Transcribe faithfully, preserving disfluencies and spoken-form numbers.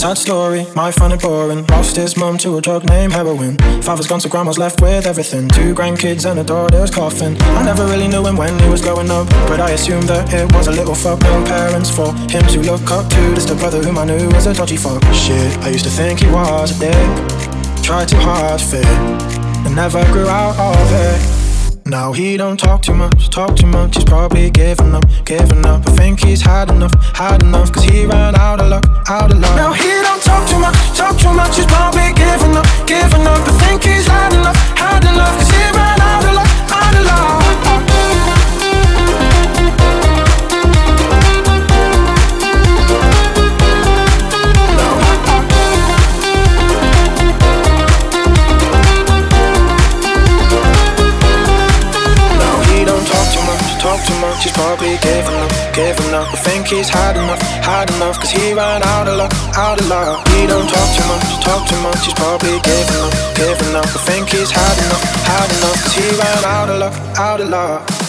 sad story, might find it boring. Lost his mum to a drug named heroin. Father's gone so grandma's left with everything. Two grandkids and a daughter's coffin. I never really knew him when he was growing up, but I assumed that it was a little fuck. No parents for him to look up to. Just a brother whom I knew was a dodgy fuck. Shit, I used to think he was a dick. Tried too hard to fit, and never grew out of it. Now he don't talk too much, talk too much. He's probably giving up, giving up. I think he's had enough, had enough. Cause he ran out of luck, out of luck. Now he don't talk too much, talk too much. He's probably giving up, giving up. I think he's had enough, had enough. Cause he ran out of luck, out of luck. Talk too much, he's probably giving up, giving up. I think he's had enough, had enough. Cause he ran out of luck, out of luck. He don't talk too much, talk too much. He's probably giving up, giving up. I think he's had enough, had enough. Cause he ran out of luck, out of luck.